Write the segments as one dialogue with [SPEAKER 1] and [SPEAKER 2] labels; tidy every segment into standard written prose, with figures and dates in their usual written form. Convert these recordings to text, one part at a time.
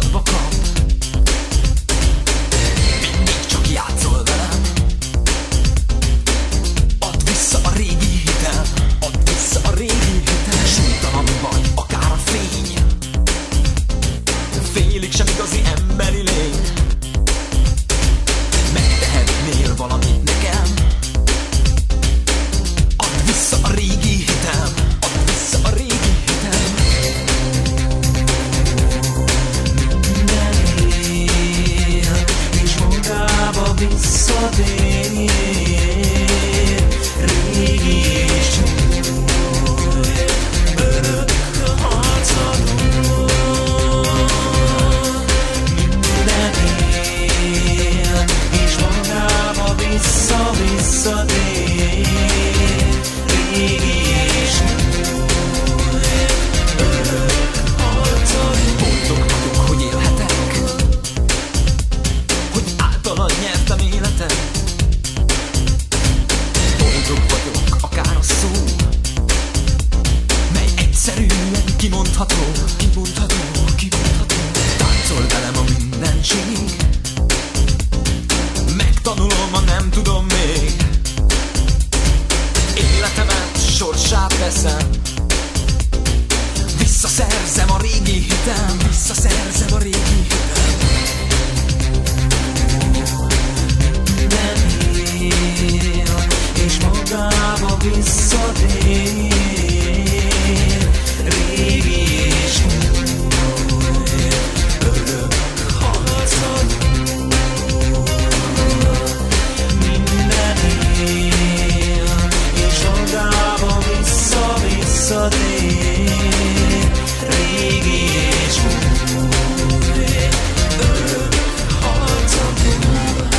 [SPEAKER 1] házba kap. Mindig csak játszol velem. Add vissza a régi hitem, add vissza a régi hitem. Súlytalan vagy, akár a fény, félig sem igazi emberi lény. Megtehetnél valamit nekem. Add vissza a régi hitem, add vissza a régi hitem. Minden él, és magába visszatér. Régi és új, örök harcadó. Minden él, és magába visszatér. Régi és új, örök harcadó. Boldog vagyok, hogy élhetek, hogy általad nyertem életet. Boldog vagyok, akár a szó, mely egyszerűen kimondható. Táncol velem a mindenség, megtanulom, ha nem tudom még. Életemet, sorsát veszem, visszaszerzem a régi hitem, visszaszerzem a régi hitem. Minden él, és magába visszatér. Régi és új, örök harcadó. Minden él, és magába visszatér. Régi és új, örök harcadó.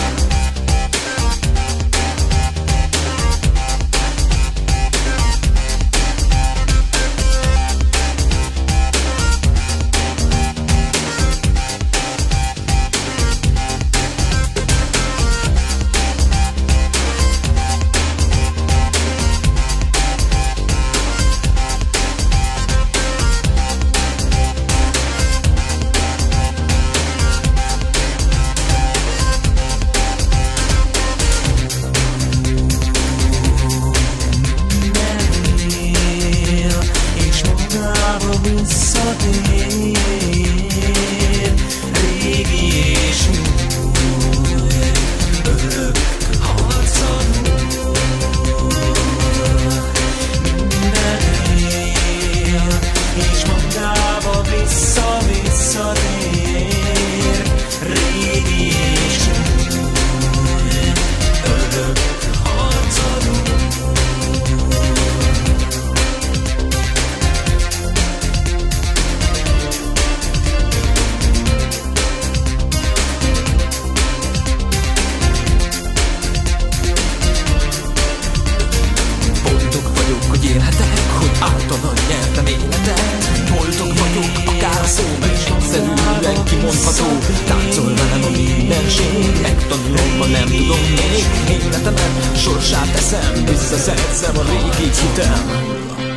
[SPEAKER 1] Általad nyertem életet. Boldog vagyok, akár a szó, mert egyszerűen kimondható. Táncol velem a mindenség, megtanulom, ma nem tudom még. Életemet, sorsát teszem, visszaszerzem a régi hitem.